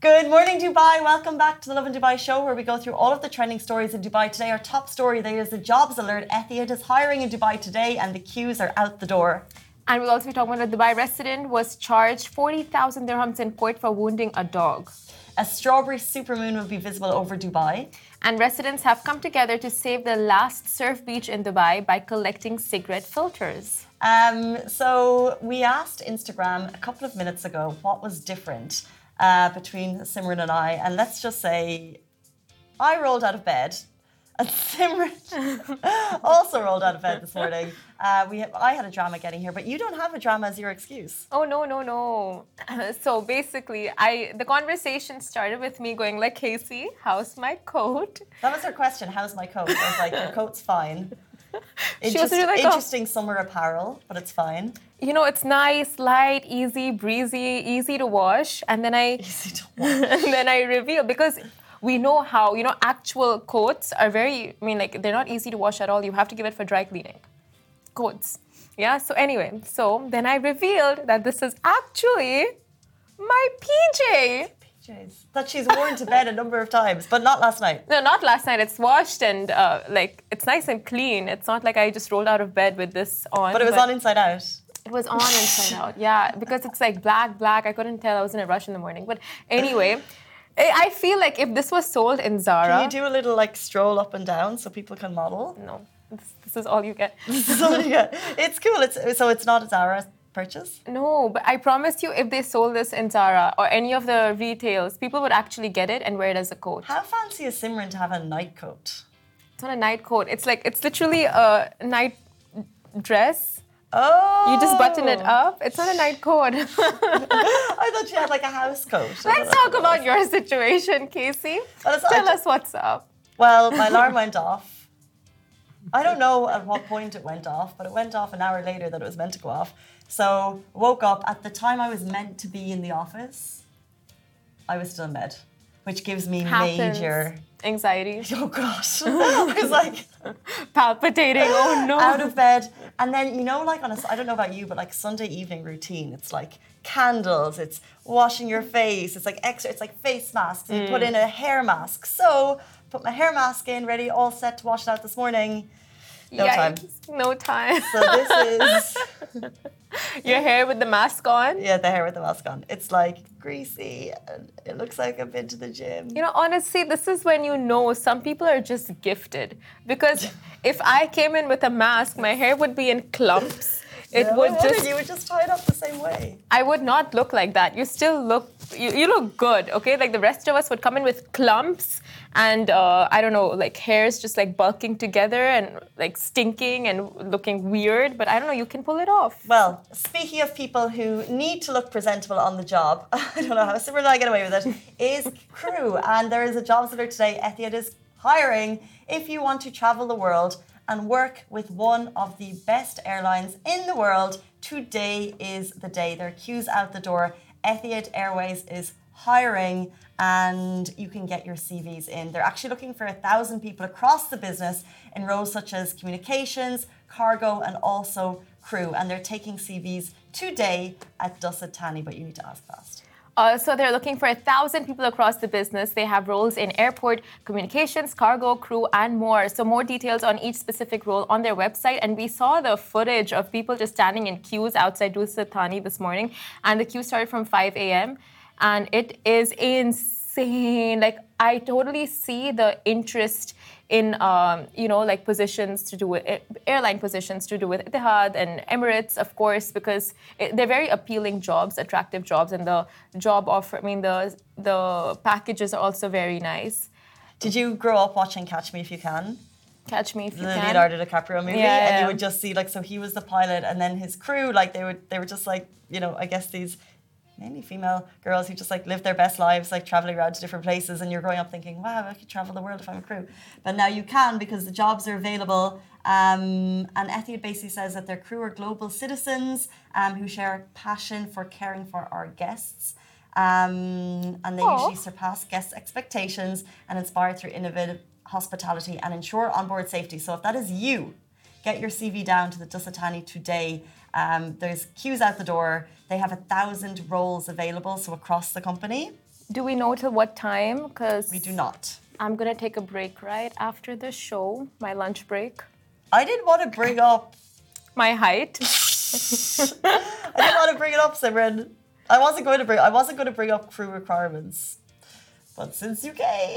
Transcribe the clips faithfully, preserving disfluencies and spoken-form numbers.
Good morning, Dubai. Welcome back to the Love in Dubai show, where we go through all of the trending stories in Dubai. Today, our top story, there is a jobs alert. Etihad is hiring in Dubai today, and the queues are out the door. And we'll also be talking about a Dubai resident was charged forty thousand dirhams in court for wounding a dog. A strawberry supermoon will be visible over Dubai. And residents have come together to save the last surf beach in Dubai by collecting cigarette filters. Um, so we asked Instagram a couple of minutes ago what was different uh, between Simran and I. And let's just say I rolled out of bed. And Simran also rolled out of bed this morning. Uh, we have, I had a drama getting here, but you don't have a drama as your excuse. Oh, no, no, no. So basically, I the conversation started with me going like, Casey, how's my coat? That was her question, how's my coat? I was like, your coat's fine. It's just like, interesting oh. summer apparel, but it's fine. You know, it's nice, light, easy, breezy, easy to wash. And then I... Easy to wash. And then I reveal, because... We know how, you know, actual coats are very, I mean, like, they're not easy to wash at all. You have to give it for dry cleaning. Coats. Yeah, so anyway, so then I revealed that this is actually my P J. P Js. That she's worn to bed a number of times, but not last night. No, not last night. It's washed and, uh, like, it's nice and clean. It's not like I just rolled out of bed with this on. But it was but on inside out. It was on inside out, yeah, because it's like black, black. I couldn't tell. I was in a rush in the morning. But anyway... I feel like if this was sold in Zara... Can you do a little, like, stroll up and down so people can model? No. This, this is all you get. This is all you get. It's cool. It's, so it's not a Zara purchase? No, but I promise you, if they sold this in Zara or any of the retails, people would actually get it and wear it as a coat. How fancy is Simran to have a night coat? It's not a night coat. It's like, it's literally a night dress. Oh. You just button it up. It's not a night coat. I thought you had like a house coat. Let's talk about your situation, Casey. Well, Tell us what's up. Well, my alarm went off. I don't know at what point it went off, but it went off an hour later that it was meant to go off. So woke up at the time I was meant to be in the office. I was still in bed, which gives me Happens. major anxiety. Oh gosh. I was like palpitating. Oh no. Out of bed. And then, you know, like on a, I don't know about you, but like Sunday evening routine, it's like candles, it's washing your face, it's like extra, it's like face masks, mm. you put in a hair mask. So, put my hair mask in, ready, all set to wash it out this morning. No Yikes. time. No time. So this is... Your hair with the mask on? Yeah, the hair with the mask on. It's like greasy and it looks like I've been to the gym. You know, honestly, this is when you know some people are just gifted. Because if I came in with a mask, my hair would be in clumps. It yeah, would I just... You would just tie it up the same way. I would not look like that. You still look... You, you look good, okay? Like the rest of us would come in with clumps and, uh, I don't know, like hairs just like bulking together and like stinking and looking weird. But I don't know, you can pull it off. Well, speaking of people who need to look presentable on the job, I don't know how Simran and I get away with it, is Crew. And there is a jobs alert today. Etihad is hiring if you want to travel the world and work with one of the best airlines in the world. Today is the day. There are queues out the door. Etihad Airways is hiring and you can get your C Vs in. They're actually looking for a thousand people across the business in roles such as communications, cargo and also crew. And they're taking C Vs today at Dusset Thani, but you need to ask fast. Uh, so they're looking for a thousand people across the business. They have roles in airport, communications, cargo, crew, and more. So more details on each specific role on their website. And we saw the footage of people just standing in queues outside Dusset Thani this morning. And the queue started from five a.m. And it is insane. Like, I totally see the interest in, um, you know, like positions to do with airline positions to do with Etihad and Emirates, of course, because it, they're very appealing jobs, attractive jobs, and the job offer. I mean, the the packages are also very nice. Did you grow up watching Catch Me If You Can? Catch Me If You the Can. Leonardo DiCaprio movie, yeah, and yeah. you would just see like so he was the pilot, and then his crew, like they would they were just like you know I guess these. mainly female girls who just like live their best lives, like traveling around to different places, and you're growing up thinking, wow, I could travel the world if I'm a crew. But now you can because the jobs are available. Um, and Etihad basically says that their crew are global citizens um, who share a passion for caring for our guests. Um, and they Aww. usually surpass guests' expectations and inspire through innovative hospitality and ensure onboard safety. So if that is you, get your C V down to the Dusset Thani today. Um, there's queues out the door. They have a thousand roles available, so across the company. Do we know till what time? Because We do not. I'm gonna take a break right after the show, my lunch break. I didn't want to bring up. My height. I didn't want to bring it up, Simran. I wasn't going to bring. I wasn't going to bring up crew requirements, but since you came,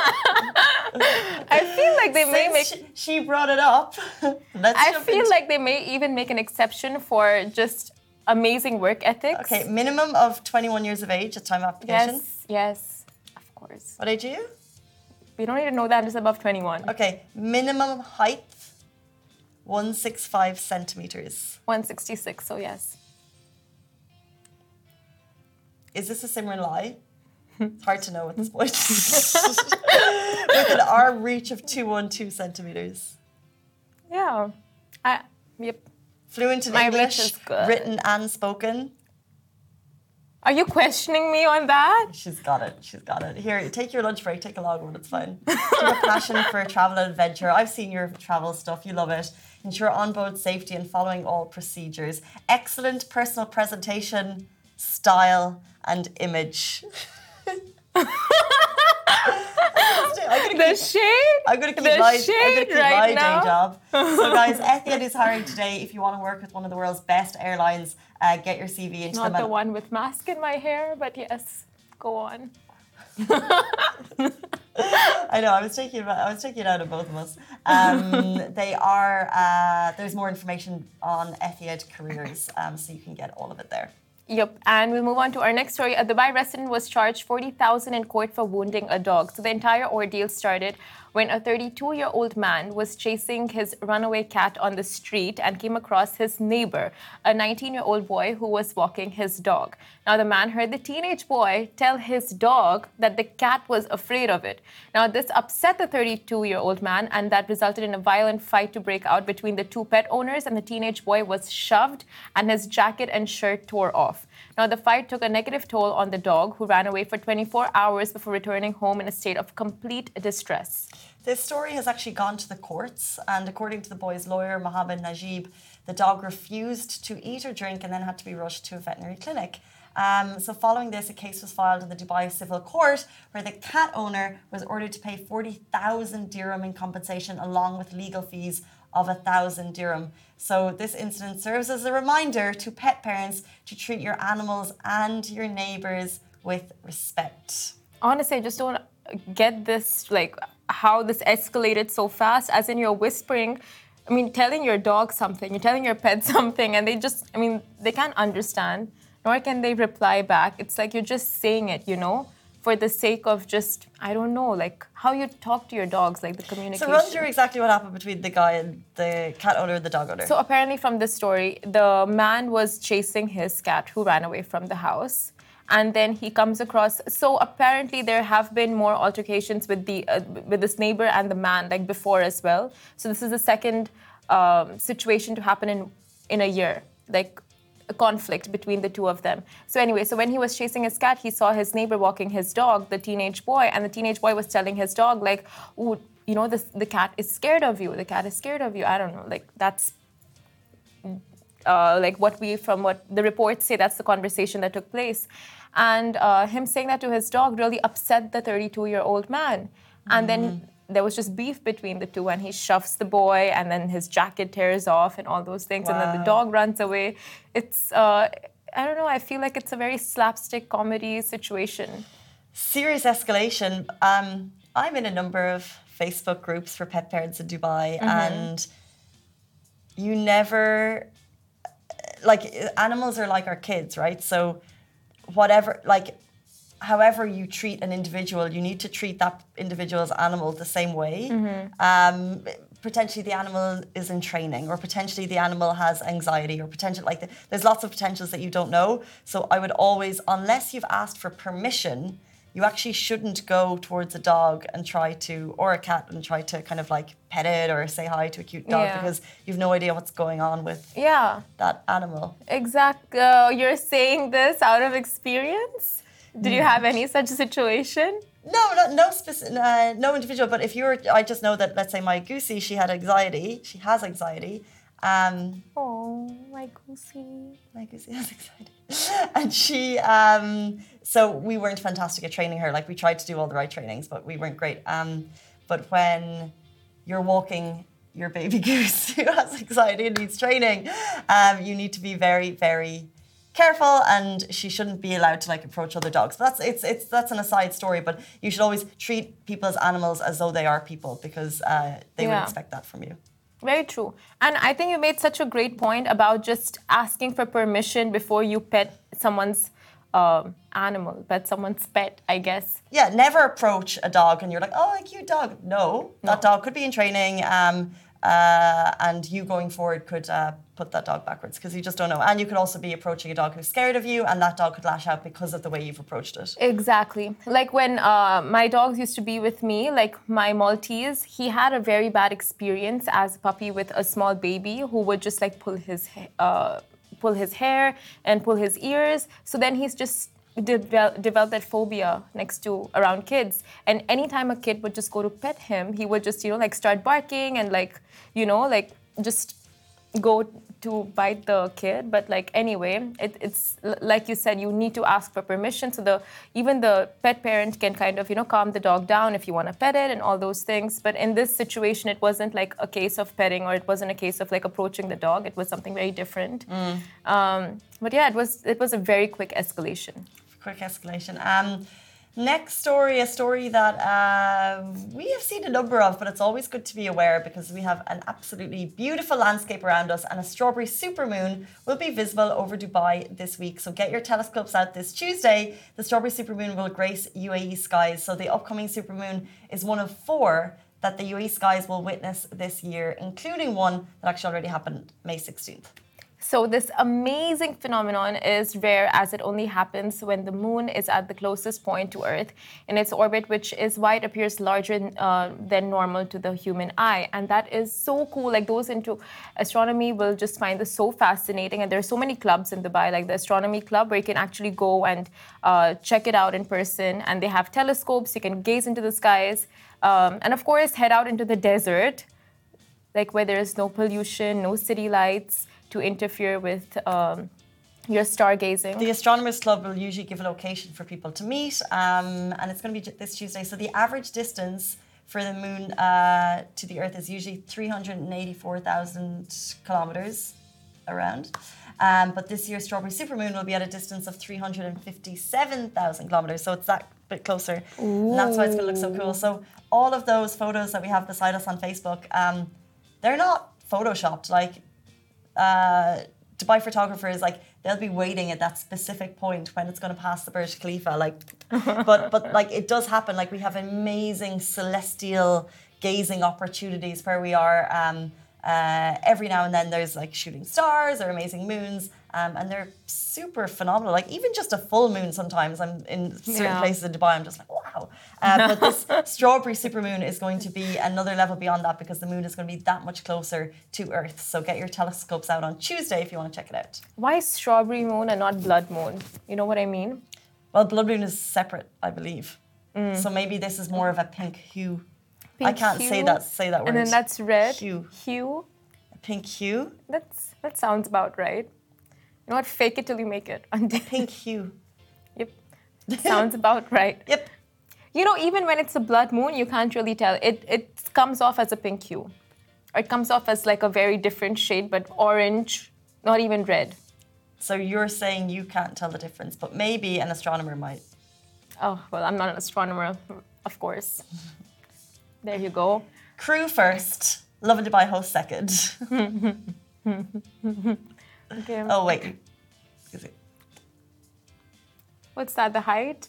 I feel like they may make. Since she, she brought it up. Let's I jump feel into- like they may even make an exception for just amazing work ethics. Okay, minimum of twenty-one years of age at time of application. Yes, yes, of course. What age are you? We don't need to know that. I'm just above twenty-one. Okay, minimum height, one hundred sixty-five centimeters. one sixty-six, so yes. Is this a Simran lie? It's hard to know at this point. With an arm reach of two hundred twelve centimeters. Yeah. I, yep. Fluent in My reach English, is good. written and spoken. Are you questioning me on that? She's got it. She's got it. Here, take your lunch break. Take a long one. It's fine. You have a passion for travel and adventure. I've seen your travel stuff. You love it. Ensure onboard safety and following all procedures. Excellent personal presentation, style, and image. I'm gonna The keep, shade? I'm gonna keep the my, I'm gonna shade keep right my now. day job. So, guys, Etihad is hiring today. If you want to work with one of the world's best airlines, uh, get your C V into Not them. the one with mask in my hair, but yes, go on. I know. I was taking it. I was taking it out of both of us. Um, they are. Uh, there's more information on Etihad careers, um, so you can get all of it there. Yep, and we'll move on to our next story. A Dubai resident was charged forty thousand dollars in court for wounding a dog. So the entire ordeal started when a thirty-two-year-old man was chasing his runaway cat on the street and came across his neighbor, a nineteen-year-old boy who was walking his dog. Now, the man heard the teenage boy tell his dog that the cat was afraid of it. Now, this upset the thirty-two-year-old man, and that resulted in a violent fight to break out between the two pet owners, and the teenage boy was shoved and his jacket and shirt tore off. Now, the fight took a negative toll on the dog, who ran away for twenty-four hours before returning home in a state of complete distress. This story has actually gone to the courts, and according to the boy's lawyer, Mohammed Najib, the dog refused to eat or drink and then had to be rushed to a veterinary clinic. Um, so following this, a case was filed in the Dubai Civil Court where the cat owner was ordered to pay forty thousand dirham in compensation along with legal fees of one thousand dirham. So this incident serves as a reminder to pet parents to treat your animals and your neighbours with respect. Honestly, I just don't get this, like, how this escalated so fast, as in you're whispering, I mean, telling your dog something, you're telling your pet something, and they just, I mean, they can't understand, nor can they reply back. It's like you're just saying it, you know, for the sake of just, I don't know, like how you talk to your dogs, like the communication. So run through exactly what happened between the guy and the cat owner and the dog owner. So apparently from this story, the man was chasing his cat who ran away from the house. And then he comes across, so apparently there have been more altercations with the uh, with this neighbor and the man, like before as well. So this is the second um, situation to happen in in a year, like a conflict between the two of them. So anyway, so when he was chasing his cat, he saw his neighbor walking his dog, the teenage boy, and the teenage boy was telling his dog, like, "Ooh, you know, this, the cat is scared of you. The cat is scared of you." I don't know, like that's. Uh, like what we, from what the reports say, that's the conversation that took place. And uh, him saying that to his dog really upset the thirty-two-year-old man. And mm. then there was just beef between the two, and he shoves the boy, and then his jacket tears off and all those things. Wow. And then the dog runs away. It's, uh, I don't know, I feel like it's a very slapstick comedy situation. Serious escalation. Um, I'm in a number of Facebook groups for pet parents in Dubai, mm-hmm. and you never... like animals are like our kids, right? So whatever, like however you treat an individual, you need to treat that individual's animal the same way. Mm-hmm. Um, potentially the animal is in training, or potentially the animal has anxiety, or potential like the, there's lots of potentials that you don't know. So I would always, unless you've asked for permission, you actually shouldn't go towards a dog and try to, or a cat, and try to kind of like pet it or say hi to a cute dog, yeah. because you've no idea what's going on with yeah. that animal. Exactly. Uh, you're saying this out of experience? Did you have any such situation? No, no, no specific, uh, no individual. But if you were, I just know that, let's say my Goosey, she had anxiety. She has anxiety. Um, oh, my Goosey. My Goosey has anxiety. and she, um, so we weren't fantastic at training her. Like we tried to do all the right trainings, but we weren't great. Um, but when you're walking your baby goose who has anxiety and needs training, um, you need to be very, very careful, and she shouldn't be allowed to like approach other dogs. But that's it's it's that's an aside story. But you should always treat people as animals as though they are people, because uh, they Yeah. would expect that from you. Very true. And I think you made such a great point about just asking for permission before you pet someone's um, animal, pet someone's pet, I guess. Yeah, never approach a dog and you're like, oh, a cute dog. No, that dog could be in training, um, uh, and you going forward could uh, put that dog backwards, because you just don't know. And you could also be approaching a dog who's scared of you, and that dog could lash out because of the way you've approached it. Exactly. Like when uh, my dogs used to be with me, like my Maltese, he had a very bad experience as a puppy with a small baby who would just like pull his uh, pull his hair and pull his ears. So then he's just devel- developed that phobia next to around kids. And anytime a kid would just go to pet him, he would just, you know, like start barking and like, you know, like just go to bite the kid. But like anyway, it, it's like you said, you need to ask for permission, so the even the pet parent can kind of, you know, calm the dog down if you want to pet it and all those things. But in this situation, it wasn't like a case of petting, or it wasn't a case of like approaching the dog. It was something very different. Mm. Um, but yeah, it was it was a very quick escalation. Quick escalation. Um, Next story, a story that uh, we have seen a number of, but it's always good to be aware, because we have an absolutely beautiful landscape around us, and a strawberry supermoon will be visible over Dubai this week. So get your telescopes out this Tuesday. The strawberry supermoon will grace U A E skies. So the upcoming supermoon is one of four that the U A E skies will witness this year, including one that actually already happened May sixteenth. So this amazing phenomenon is rare, as it only happens when the moon is at the closest point to Earth in its orbit, which is why it appears larger uh, than normal to the human eye. And that is so cool. Like those into astronomy will just find this so fascinating. And there are so many clubs in Dubai, like the Astronomy Club, where you can actually go and uh, check it out in person. And they have telescopes, you can gaze into the skies. Um, and of course, head out into the desert, like where there is no pollution, no city lights to interfere with um, your stargazing. The Astronomers Club will usually give a location for people to meet, um, and it's going to be this Tuesday. So the average distance for the moon uh, to the Earth is usually three hundred eighty-four thousand kilometers around. Um, but this year's strawberry supermoon will be at a distance of three hundred fifty-seven thousand kilometers. So it's that bit closer. Ooh. And that's why it's going to look so cool. So all of those photos that we have beside us on Facebook, um, they're not photoshopped. Like, Uh, Dubai photographers, like they'll be waiting at that specific point when it's going to pass the Burj Khalifa. Like, but but like it does happen. Like we have amazing celestial gazing opportunities where we are. Um, uh, every now and then there's like shooting stars or amazing moons, um, and they're super phenomenal. Like even just a full moon sometimes. I'm in certain Yeah. places in Dubai, I'm just like, wow. Uh, but this strawberry supermoon is going to be another level beyond that, because the moon is going to be that much closer to Earth. So get your telescopes out on Tuesday if you want to check it out. Why strawberry moon and not blood moon? You know what I mean? Well, blood moon is separate, I believe. Mm. So maybe this is more of a pink hue. Pink I can't hue, say that say that word. And then that's red. Hue. Hue. A pink hue. That's that sounds about right. You know what? Fake it till you make it. Pink hue. Yep. Sounds about right. Yep. You know, even when it's a blood moon, you can't really tell. It it comes off as a pink hue. Or it comes off as like a very different shade, but orange, not even red. So you're saying you can't tell the difference, but maybe an astronomer might. Oh, well, I'm not an astronomer, of course. There you go. Crew first, Lovin Dubai host second. Okay. Oh, wait. Excuse me. What's that, the height?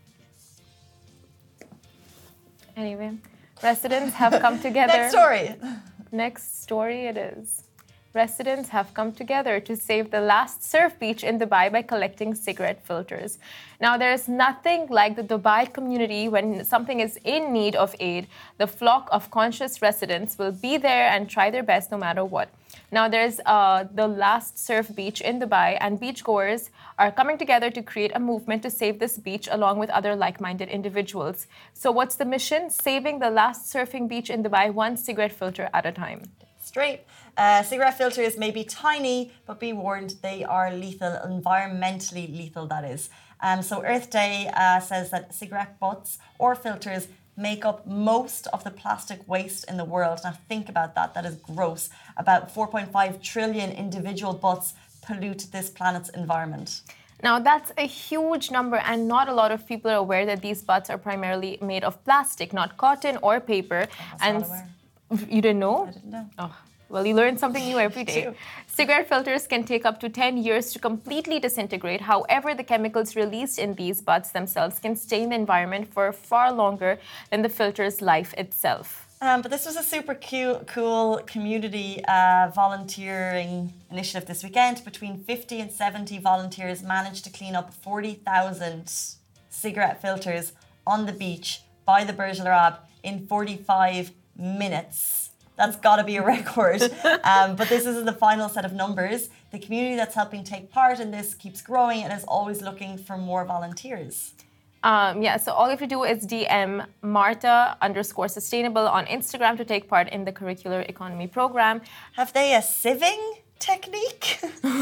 Anyway, residents have come together. Next story. Next story it is. Residents have come together to save the last surf beach in Dubai by collecting cigarette filters. Now, there is nothing like the Dubai community when something is in need of aid. The flock of conscious residents will be there and try their best no matter what. Now, there's uh, the last surf beach in Dubai, and beachgoers are coming together to create a movement to save this beach along with other like-minded individuals. So what's the mission? Saving the last surfing beach in Dubai one cigarette filter at a time. straight. Uh, cigarette filters may be tiny, but be warned, they are lethal, environmentally lethal, that is. Um, so Earth Day uh, says that cigarette butts or filters make up most of the plastic waste in the world. Now think about that, that is gross. About four point five trillion individual butts pollute this planet's environment. Now, that's a huge number, and not a lot of people are aware that these butts are primarily made of plastic, not cotton or paper. I and was not aware. You didn't know? I didn't know. Oh, well, you learn something new every day. Cigarette filters can take up to ten years to completely disintegrate. However, the chemicals released in these butts themselves can stay in the environment for far longer than the filter's life itself. Um, but this was a super cute, cool community uh, volunteering initiative this weekend. Between fifty and seventy volunteers managed to clean up forty thousand cigarette filters on the beach by the Burj Al Arab in forty-five minutes. That's got to be a record. Um, but this isn't the final set of numbers. The community that's helping take part in this keeps growing and is always looking for more volunteers. Um, yeah, so all you have to do is D M Marta underscore sustainable on Instagram to take part in the curricular economy program. Have they a sieving technique?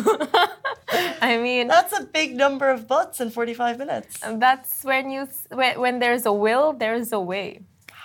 I mean, that's a big number of butts in forty-five minutes. That's when you when, when there's a will, there's a way.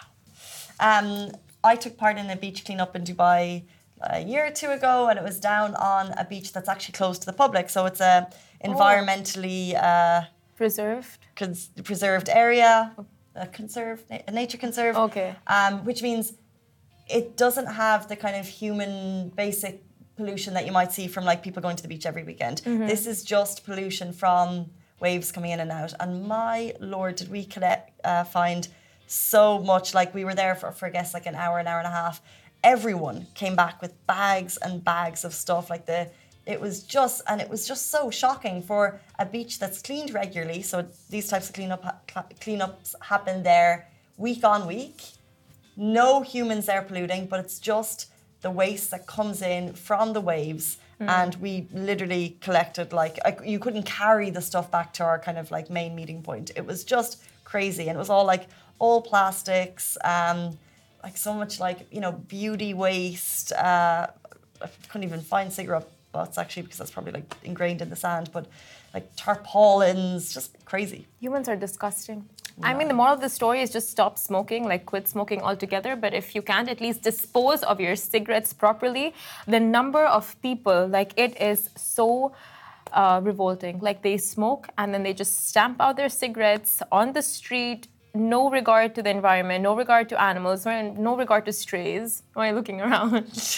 Um, I took part in a beach cleanup in Dubai a year or two ago, and it was down on a beach that's actually closed to the public. So it's a environmentally uh, preserved cons- preserved area, a conserved, a nature conserve. Okay. Um, which means it doesn't have the kind of human basic pollution that you might see from like people going to the beach every weekend. Mm-hmm. This is just pollution from waves coming in and out. And my lord, did we collect, uh, find so much. Like we were there for, for I guess like an hour, an hour and a half. Everyone came back with bags and bags of stuff. Like the, it was just, and it was just so shocking for a beach that's cleaned regularly. So these types of cleanup cleanups happen there week on week. No humans there polluting, but it's just the waste that comes in from the waves. Mm. And we literally collected like, you couldn't carry the stuff back to our kind of like main meeting point. It was just crazy. And it was all like, all plastics, um, like so much like, you know, beauty waste. Uh, I couldn't even find cigarette butts actually because that's probably like ingrained in the sand, but like tarpaulins, just crazy. Humans are disgusting. Yeah. I mean, the moral of the story is just stop smoking, like quit smoking altogether. But if you can't at least dispose of your cigarettes properly, the number of people, like it is so uh, revolting. Like they smoke and then they just stamp out their cigarettes on the street. No regard to the environment, no regard to animals, no regard to strays. Am I looking around?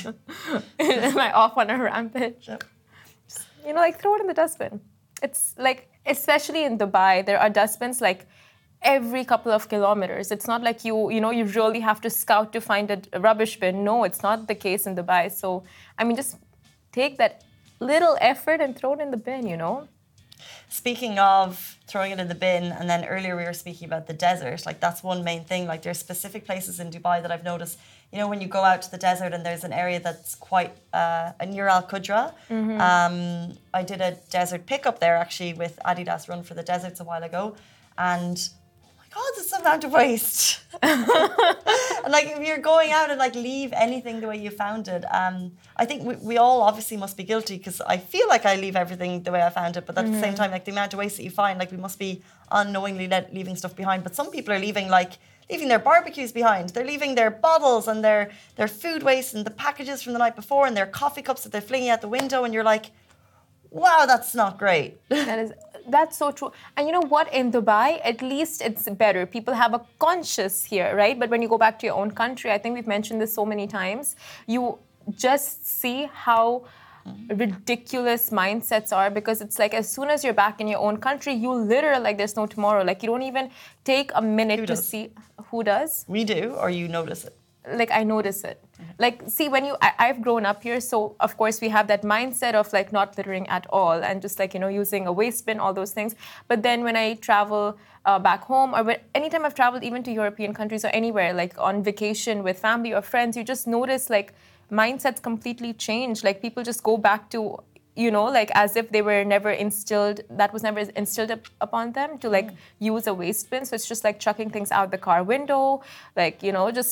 Am I off on a rampage? Yep. Just, you know, like throw it in the dustbin. It's like, especially in Dubai, there are dustbins like every couple of kilometers. It's not like you, you know, you really have to scout to find a rubbish bin. No, it's not the case in Dubai. So, I mean, just take that little effort and throw it in the bin, you know? Speaking of throwing it in the bin, and then earlier we were speaking about the desert, like that's one main thing. Like there's specific places in Dubai that I've noticed, you know, when you go out to the desert and there's an area that's quite uh, near Al Qudra. Mm-hmm. Um, I did a desert pickup there actually with Adidas Run for the Deserts a while ago, and God, this amount of waste. And like if you're going out and like leave anything the way you found it, um, I think we, we all obviously must be guilty because I feel like I leave everything the way I found it, but at mm-hmm. the same time, like the amount of waste that you find, like we must be unknowingly let, leaving stuff behind. But some people are leaving like leaving their barbecues behind. They're leaving their bottles and their their food waste and the packages from the night before and their coffee cups that they're flinging out the window, and you're like, wow, that's not great. That is. That's so true. And you know what? In Dubai, at least it's better. People have a conscience here, right? But when you go back to your own country, I think we've mentioned this so many times, you just see how ridiculous mindsets are, because it's like as soon as you're back in your own country, you literally like there's no tomorrow. Like you don't even take a minute who to does? see who does. We do, or you notice it? Like I notice it. Mm-hmm. Like see when you I, I've grown up here, so of course we have that mindset of like not littering at all and just like, you know, using a waste bin, all those things. But then when I travel uh, back home, or when, anytime I've traveled even to European countries or anywhere, like on vacation with family or friends, you just notice like mindsets completely change. Like people just go back to, you know, like as if they were never instilled, that was never instilled up, upon them to like mm. use a waste bin. So it's just like chucking things out the car window, like, you know, just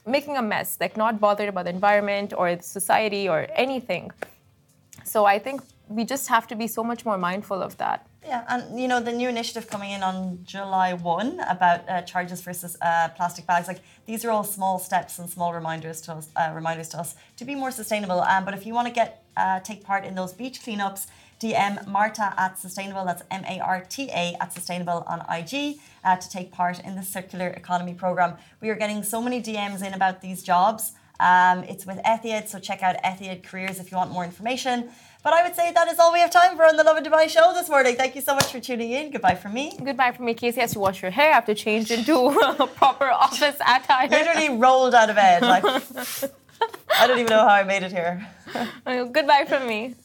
making a mess, like not bothered about the environment or the society or anything. So I think we just have to be so much more mindful of that. Yeah, and you know, the new initiative coming in on July first about uh, charges versus uh, plastic bags, like these are all small steps and small reminders to us, uh, reminders to us to be more sustainable. Um, but if you want to get uh, take part in those beach cleanups, D M Marta at Sustainable, that's M A R T A at Sustainable on I G uh, to take part in the Circular Economy Programme. We are getting so many D Ms in about these jobs. Um, it's with Etihad, so check out Etihad Careers if you want more information. But I would say that is all we have time for on the Lovin Dubai show this morning. Thank you so much for tuning in. Goodbye from me. Goodbye from me. Casey has to wash her hair. I have to change into a proper office attire. Literally rolled out of bed. Like, I don't even know how I made it here. Goodbye from me.